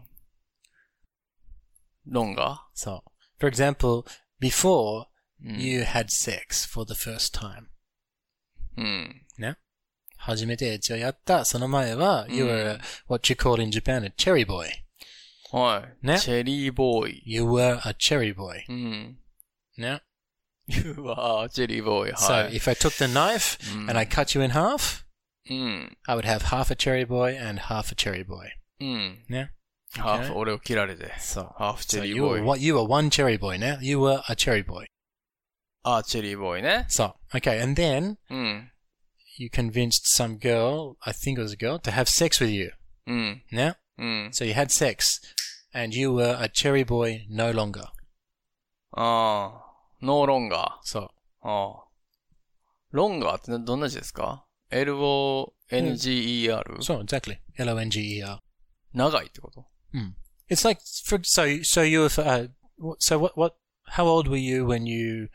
ロンガ？ そう。For example, before you had sex for the first time. うん。 ね。初めてエッチをやった。その前は、you were what you call in Japan a cherry boy. はい。 ね。 チェリーボーイ。 You were a cherry boy. うん。 ね。 You were a cherry boy. はい。 So, if I took the knife and I cut you in half, うん。 I would have half a cherry boy and half a cherry boy. うん。 ね。 ハーフ、俺を切られて。 そう。 ハーフチェリー So ボ you ー were, イ。 you were one cherry boy ね。You were a cherry boy. あ、チェリーボーイね。 そう。Okay, and then, うん。 you convinced some girl, I think it was a girl, to have sex with you. うん。 ね。 うん。 So you had sex, and you were a cherry boy no longer. ああ。ノーロンガー。 そう。 ああ。ロンガーってどんな字ですか？ エル オー エヌ ジー イー アール？ そう、exactly.エル オー エヌ ジー イー アール. 長いってこと？ うん。It's like, for, so, so you were, uh, so what, what, how old were you when you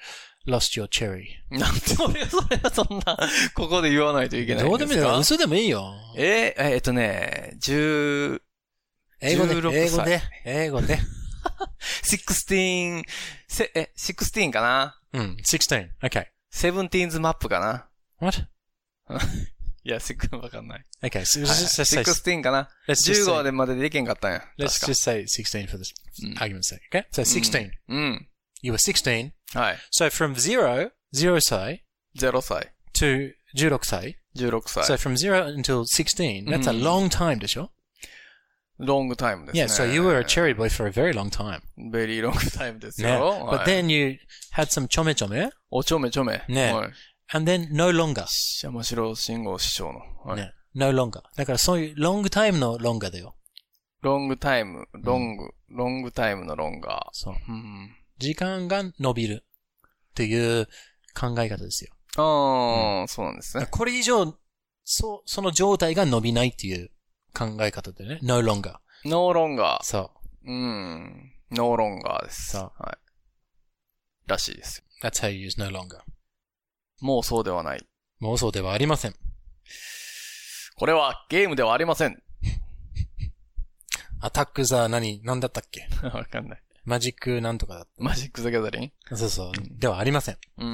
lost your cherry. なんで俺がそれはそんな、ここで言わないといけないんですか？ どうでもいいよ。嘘でもいいよ。 えー、えーっとね、十、 英語で、 じゅうろくさい英語で、英語で。 じゅうろく、せ、え、じゅうろくかな？ うん、sixteen. Okay. セブンティーンズマップかな？ What? いや、せっかくわかんない。 Okay, so はい、 just, just じゅう say, ろくかな？ let's じゅ just うご say, でまでできんかったんや。 let's 確か just say sixteen for this うん argument's sake. Okay? So sixteen. うん。 You were sixteen. はい。 So from zero, zero 歳ゼロさい。 to じゅうろく歳. じゅうろくさい。 So from zero until sixteen, that's a うん long time でしょ？ ロングタイムですね。 Yeah, so you were a cherry boy for a very long time. ベリーロングタイムですよ。 ね。 はい But then you had some ちょめちょめおちょめちょめ。 ねはい。 and then no longer. 山城信号師匠の。はい。 ね。no longer. だからそういうロングタイムのロンガだよ。 ロングタイム、ロング、ロングタイムのロンガー。 そう。 うん。 時間が伸びるっていう考え方ですよ。 ああ、そうなんですね。 これ以上、そう、その状態が伸びないっていう考え方でね。no longer. ノーロンガー。 そうん。ノーロンガーです。 そうはい。らしいですよ。 う。That's how you use no longer. もうそうではない。 もうそうではありません。 これはゲームではありません。 アタックザ何、何だったっけ？ わかんない。 マジックなんとかだっマジック・ザ・ギャザリン？ た。そうそう。ではありません。 うん。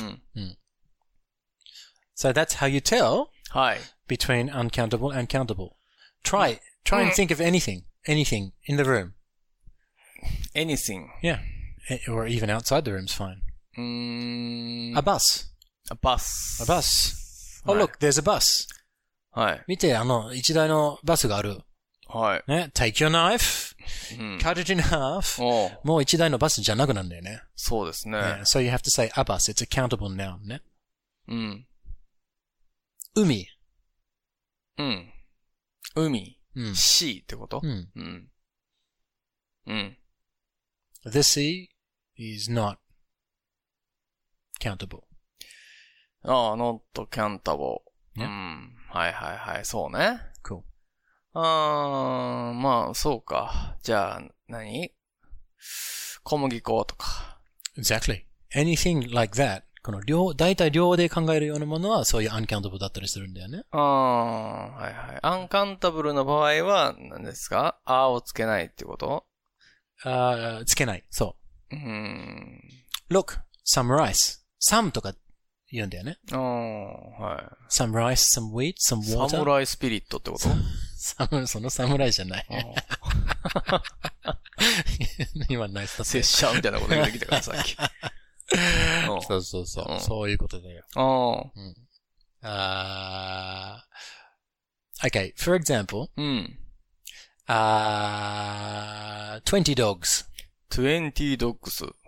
So that's how you tell はい。 between uncountable and countable. Try, try and think of anything, anything in the room. anything. Yeah. Or even outside the room's fine. うーん。 A bus. バス。 A bus. Oh, はい look, there's a bus. はい。 見て、あの、一台のバスがある。 はい。 ね。Take your knife, うん。 cut it in half. おうもう一台のバスじゃなくなんだよね。 そうですね。 Yeah. So you have to say a bus. It's a countable noun ね。 うん。 海。 うん。海。 うん。 C ってことうん。 うん。うん。 The sea is not countable. ああ、not countable。 ねうん。はいはいはい。そうね。 Cool. あー、まあ、そうか。じゃあ、何小麦粉とか。 Exactly. Anything like that. この量、大体量で考えるようなものはそういう uncountable だったりするんだよね。 あー、はいはい。アンカンタブルの場合は何ですか？あーをつけないってこと？ ああ、つけない。そうーん。 う。Look, some rice. Some とか言うんだよね。 あー、はい。 Some rice, some wheat, some water. サムライスピリットってこと？ サム、その侍じゃない。 あー今ナイスだった拙者みたいなこと言ってきたからさっき。うんそうそうそう。 うんそういうことだよ。 ああー Okay, for example, ーうん。 あー twenty dogs. トゥエンティードッグス。はい。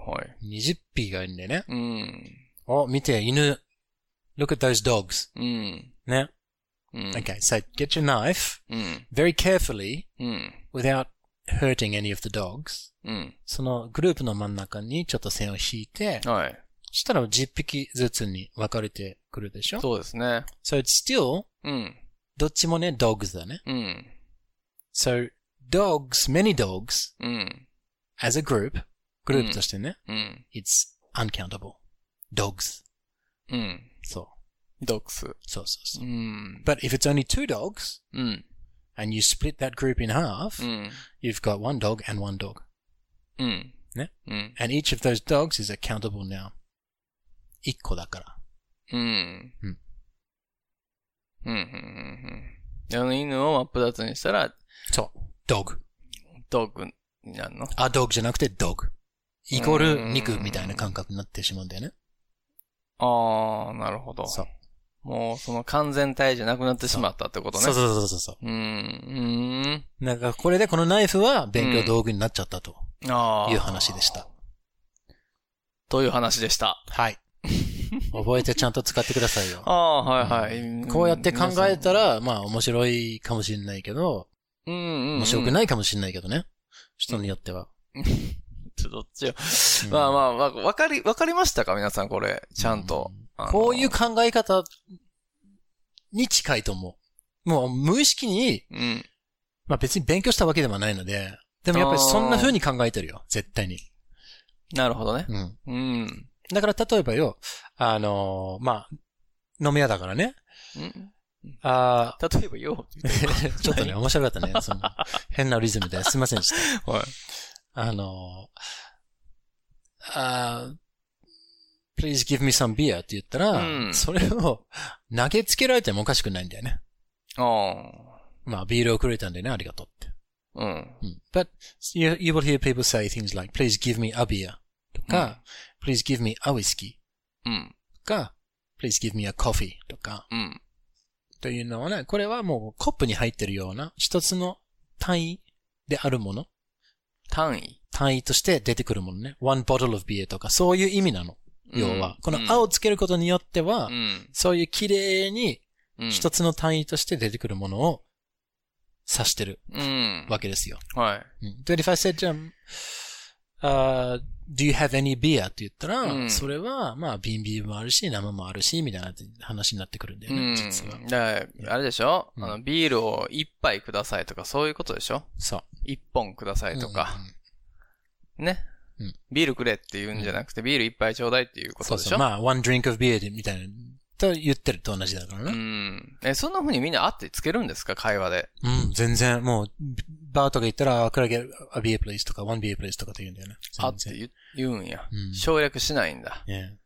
にじゅっぴきがいるんだよね。 うん。 お、見て、犬。Look at those dogs. うん。 ね。 うん。 Okay, so get your knife うん。 very carefully うん。 without hurting any of the dogs. うん。 そのグループの真ん中にちょっと線を引いて、 はい。 そしたらじゅっぴきずつに分かれてくるでしょ？ そうですね。 So it's still うん。 どっちもね、dogs だね。 うん。 So dogs, many dogs うん。 as a group, グループとしてね、 うん。 it's uncountable. Dogs. うん。 そう。 ドッグス。 そうそうそうう。 ん。 But if it's only two dogs うん。 and you split that group in half, うん。 you've got one dog and one dog. うん。 ね。 うん。 And each of those dogs is a countable noun. 一個だから。 うん。 うん。 うん。うん。うん。あの犬を真っ二つにしたら、 そう。dog. ドッグになるの？ a dog じゃなくて dog. イコール肉みたいな感覚になってしまうんだよね。 ああ、なるほど。 そう。 もうその完全体じゃなくなってしまったってことね。 そうそうそうそうそう。 うーん。 なんかこれでこのナイフは勉強道具になっちゃったとああ。 いう話でした。 という話でした。 はい。覚えてちゃんと使ってくださいよ。 ああ、はいはい。 こうやって考えたら、まあ面白いかもしれないけど、 うんうんうん、 面白くないかもしれないけどね。人によっては。 ちょどっちよ。 うんまあまあ、わわかり、わかりましたか皆さんこれ。ちゃんと。あのこういう考え方に近いと思う。もう無意識に、 うん。 まあ別に勉強したわけではないので、でもやっぱりそんな風に考えてるよ。絶対に。 なるほどね。 うん。 うん。 だから例えばよ、あのー、まあ、飲み屋だからね。 んあ例えばよ。 ちょっとね、面白かったね。その変なリズムですいませんでした。 はい。 あのー、あー please give me some beer って言ったら、うん、それを投げつけられてもおかしくないんだよね。 ああ。 まあ、ビールをくれたんでね、ありがとうって。 うん。 うん、But you, you will hear people say things like, please give me a beer とか、うん、please give me a whiskey うん。 とか、please give me a coffee とか、 うん。 というのはね、これはもうコップに入ってるような一つの単位であるもの。 単位単位として出てくるものね。one bottle of beer とか、そういう意味なの。要は、うん、このあをつけることによっては、うん、そういう綺麗に一つの単位として出てくるものを指してるわけですよ。 うん、はい。 で、if I said, uh, do you have any beer? って言ったら、うん、それは、まあ、瓶ビールもあるし、生もあるし、みたいな話になってくるんだよね、うん、実は。 だから、あれでしょ、うん、あの、ビールを一杯くださいとか、そういうことでしょそう。 一本くださいとか。うん、ね。うん、ビールくれって言うんじゃなくて、うん、ビール一杯ちょうだいっていうことでしょ。 そうそう。まあ、one drink of beer みたいな、と言ってると同じだからね。 うん。え、そんな風にみんなあってつけるんですか会話で。 うん、全然、もう、バーとか行ったら、could I get a beer please とか、one beer please とかって言うんだよね。 あって言, 言うんや、うん。省略しないんだ。 Yeah.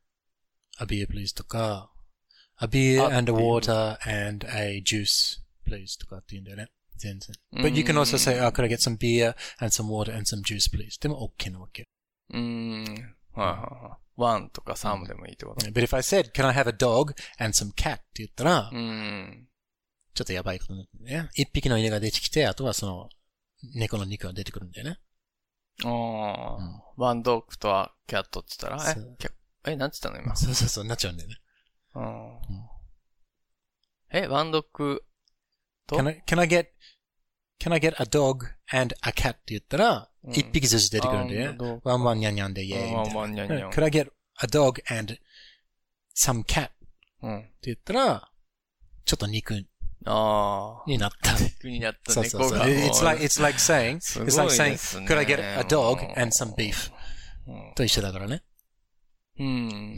a beer please とか、a beer and a water and a juice please とかって言うんだよね。全然。But you can also say, oh, could I get some beer and some water and some juice please? でも OK なわけ。 うーん。はいはいはい。one とかsomeでもいいってこと。 But if I said, can I have a dog and some cat? って言ったら、 うん。 ちょっとやばいことになってね。一匹の犬が出てきて、あとはその、猫の肉が出てくるんだよね。 ああ、うん。ワンドッグとはキャットって言ったら、え、え、なんて言ったの今。 そうそうそう、なっちゃうんだよね。 うん。え、ワンドッグと can I, can I get, can I get a dog and a cat って言ったら、うん、一匹ずつ出てくるんだよね。ワンワンニャンニャンでイェーイ。 ワンワンニャンニャン。 Could I get a dog and some cat? うん。 って言ったら、ちょっと肉。 ああ。 になった。 肉になったそうそうそう。It's like, it's like saying, it's like saying, could I get a dog and some beef? と一緒だからね。 うん。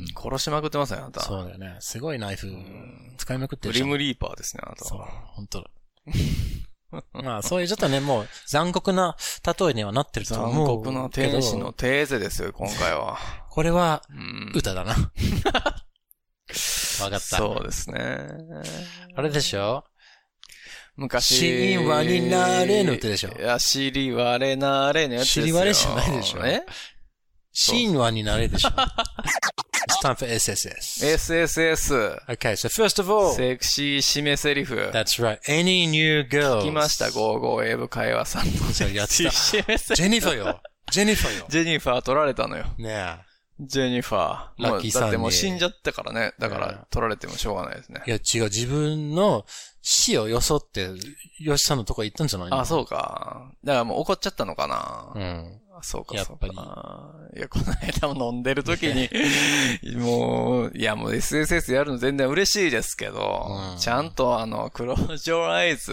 殺しまくってますね、あなた。 そうだよね。すごいナイフ使いまくってる。 グリムリーパーですね、あなた。 そう、本当だ。まあ、そういうちょっとね、もう残酷な例えにはなってると思うけど。 残酷な天使のテーゼですよ、今回は。 これは、歌だな。わかった。 そうですね。 あれでしょ昔。 神話になれぬってでしょ。 いや、尻割れなれぬやつですよ。 尻割れじゃないでしょ。 え神話になれでしょ。It's time for エスエスエス. エスエスエス. Okay, so first of all. セクシー締めセリフ. That's right. Any new girls. 聞きました、ゴーゴー英語会話さんの。 そうやってた。ジェニファーよ。ジェニファーよ。 ジェニファー取られたのよ。 ねえ。 ジェニファー。 ラッキーさんに。 だってもう死んじゃったからね。だから取られてもしょうがないですね。 いや違う、自分の死をよそって、ヨシさんのとこ行ったんじゃないの？ あ、そうか。だからもう怒っちゃったのかな。 うん。 そうか、そうか。やっぱり。いや、この間も飲んでる時に、もう、いや、もう エスエスエス やるの全然嬉しいですけど、うん、ちゃんとあの、Close Your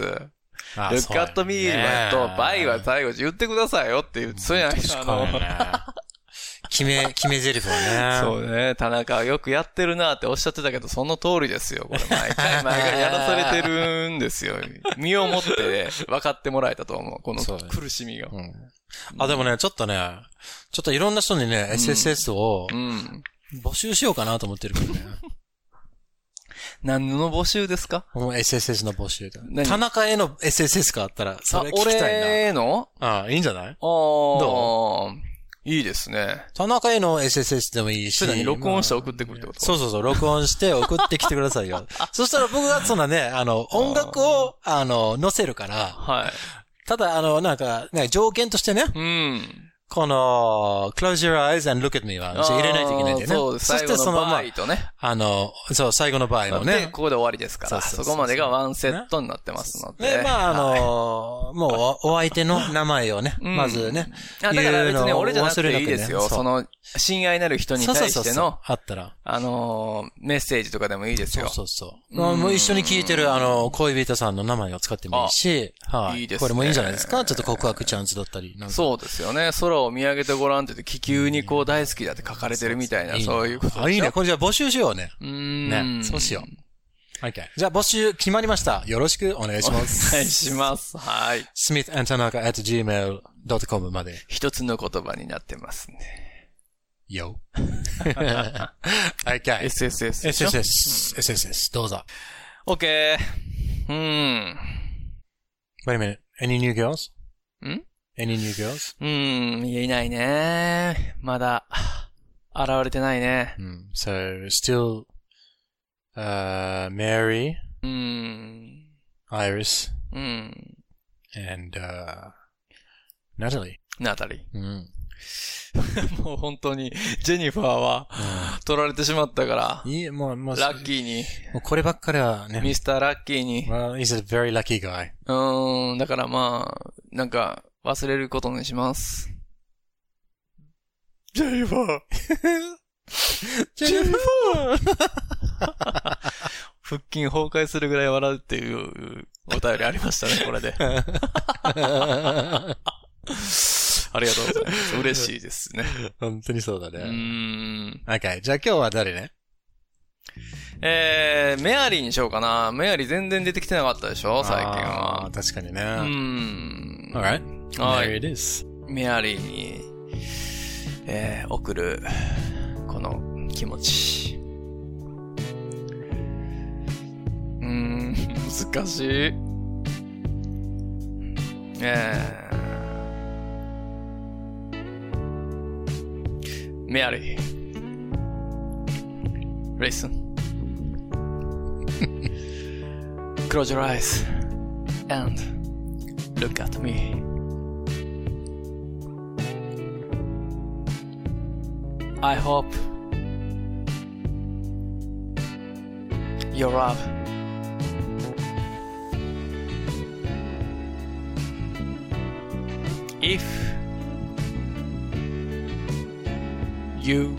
Eyes、Look at me と、バイは最後言ってくださいよって言って、そうじゃないですか、あの、 決め、決め台詞はね。そうね。田中はよくやってるなっておっしゃってたけど、その通りですよ。これ毎回毎回やらされてるんですよ。身をもって分かってもらえたと思う。この苦しみが。 うん、あ、でもね、ちょっとね、ちょっといろんな人にね、エスエスエス を募集しようかなと思ってるからね。 何の募集ですか？ もう エスエスエス の募集だ。田中への エスエスエス があったら、それ聞きたいな。 俺への？ ああ、いいんじゃない？ああ。 どう？いいですね。 田中への エスエスエス でもいいし。 に録音して送ってくるってこと？ そうそうそう、録音して送ってきてくださいよ。そしたら僕がそんなね、あの、音楽を、あの、載せるから。 はい。 ただ、あの、なんか、ね、条件としてね。 うん。 この、close your eyes and look at me は入れないといけないんだよね。 そうです。最後の場合とね。 あの、そう、最後の場合のね。 で、ここで終わりですから。そこまでがワンセットになってますので。 で、まあ、あの、もう、お相手の名前をね、まずね。 だから別に俺じゃなくていいですよ。その、 親愛なる人に対しての、 そうそうそうあったら。 あのー、メッセージとかでもいいですよ。 そうそうそう。うん、もう一緒に聞いてる、あの、恋人さんの名前を使ってもいいし、はい。いいですね。これもいいんじゃないですか？ちょっと告白チャンスだったり。なんかそうですよね。空を見上げてごらんって言って、気球にこう大好きだって書かれてるみたいな、そう, そういうことでしょ。 あ、いいね。これじゃあ募集しようね。 うーん。 ね。そうしよう。OK。じゃあ募集決まりました。よろしくお願いします。 お願いします。はい。 スミスアンドタナカ at ジーメールドットコム まで。 一つの言葉になってますね。 よ。OK。 エスエスエス。 エスエスエス。エスエスエス。どうぞ。 OK。うーん。 Wait a minute. Any new girls? ん Any new girls? うーん、いないね。まだ、現れてないね。 Mm. So, still, uh, Mary, うーん。 Iris, うん。 and, uh, Natalie. ナタリー。 うんもう本当に、ジェニファーは、取られてしまったから。 いい、もう、もう、 ラッキーに。 もうこればっかりはね。 ミスターラッキーに。 Well, he's a very lucky guy. うーん、だからまあ、なんか、忘れることにします。ジェニファージェニファー腹筋崩壊するぐらい笑うっていうお便りありましたね、これで。ありがとうございます。嬉しいですね。 本当にそうだね。 うーん。 Okay. じゃあ今日は誰ね？ えー、メアリーにしようかな。メアリー全然出てきてなかったでしょ、最近は。 あ確かにね。 うーん。 Alright. はい。 There it is. メアリーに、えー、送る、この気持ち。うーん、難しい。えー、メアリー。Listen. Close your eyes and look at me. I hope your love if you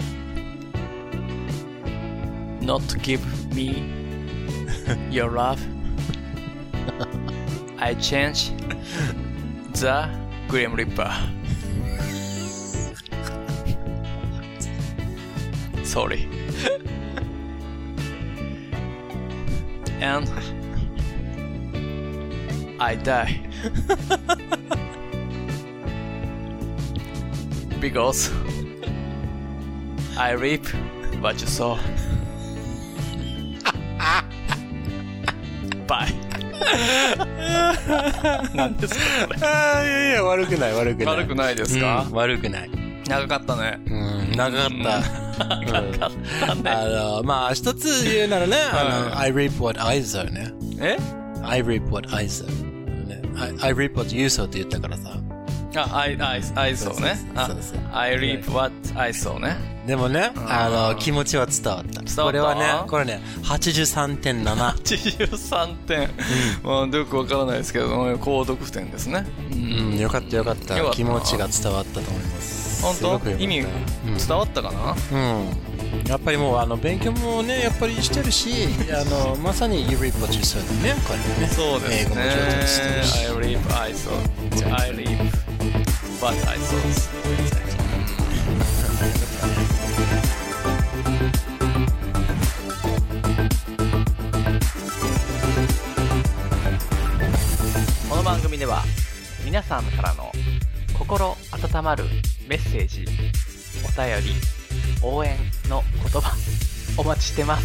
not give me your love, I change the Grim Reaper. Sorry. And I die. Because I reap what you sow. Bye. 何ですかこれ。 ああ、いやいや、悪くない、悪くない。 悪くないですか、 うん、悪くない。 長かったね。 うん、長かった。 長かったね。 あの、まあ、一つ言うならね、あの、I reap what I sow ね。 え ?I reap what I sow。ね、I, I reap what you sow って言ったからさ。 あ、I, I, I saw ね。 そうそう。 I reap what I saw ね。 でもね、あの、気持ちは伝わった。 伝わった。 これはね、これね、はちじゅうさんてんなな。 はちじゅうさんてん。まあ、よくわからないですけど、高得点ですね。 うん、よかったよかった。気持ちが伝わったと思います。 本当？意味伝わったかな？ うん。やっぱりもう、あの、勉強もね、やっぱりしてるし、あの、まさに You reap what you sow だね、これね。 そうですね。英語も上手にしてるし。I reap, I sow. I reap what I sow. この番組では皆さんからの心温まるメッセージ、お便り、応援の言葉お待ちしてます。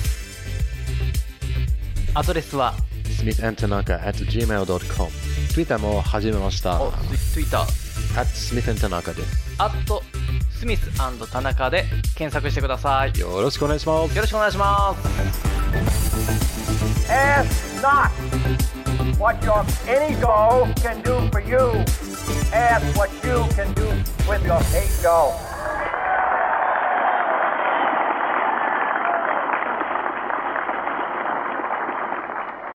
アドレスはスミスアンドタナカ at ジーメールドットコム。 Twitter も始めました。 お、Twitter at スミスアンドタナカです。 アットスミス&田中で検索してください。 よろしくお願いします。 よろしくお願いします。 Ask not what your ego can do for you. Ask what you can do with your ego.